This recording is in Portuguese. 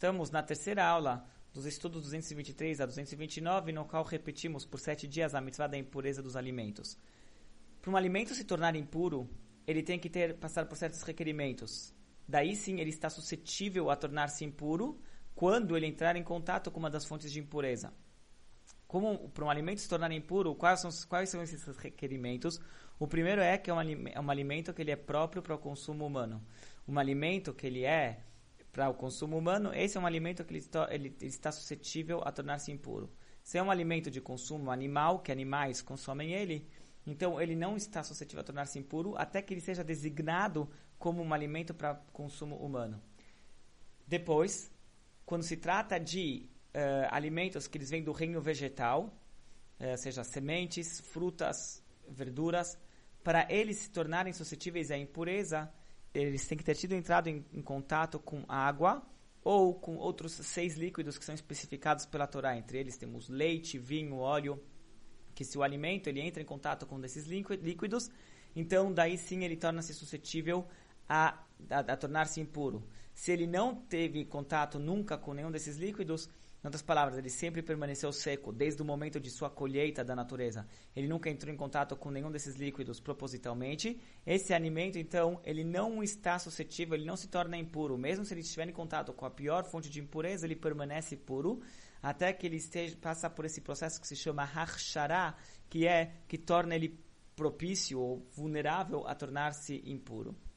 Estamos na terceira aula dos estudos 223 a 229, no qual repetimos por 7 dias a mitzvah da impureza dos alimentos. Para um alimento se tornar impuro, ele tem que passar por certos requerimentos. Daí sim ele está suscetível a tornar-se impuro quando ele entrar em contato com uma das fontes de impureza. Como para um alimento se tornar impuro, quais são esses requerimentos? O primeiro é que é um alimento que ele é próprio para o consumo humano. Um alimento que ele é para o consumo humano, esse é um alimento que ele está suscetível a tornar-se impuro. Se é um alimento de consumo animal, que animais consomem ele, então ele não está suscetível a tornar-se impuro até que ele seja designado como um alimento para consumo humano. Depois, quando se trata de alimentos que eles vêm do reino vegetal, seja sementes, frutas, verduras, para eles se tornarem suscetíveis à impureza, eles têm que ter entrado em contato com água ou com outros 6 líquidos que são especificados pela Torá. Entre eles temos leite, vinho, óleo, que se o alimento ele entra em contato com desses líquidos, então daí sim ele torna-se suscetível a tornar-se impuro. Se ele não teve contato nunca com nenhum desses líquidos, em outras palavras, ele sempre permaneceu seco, desde o momento de sua colheita da natureza. Ele nunca entrou em contato com nenhum desses líquidos propositalmente. Esse alimento, então, ele não está suscetível, ele não se torna impuro. Mesmo se ele estiver em contato com a pior fonte de impureza, ele permanece puro, até que ele passa por esse processo que se chama hachshará, que torna ele propício ou vulnerável a tornar-se impuro.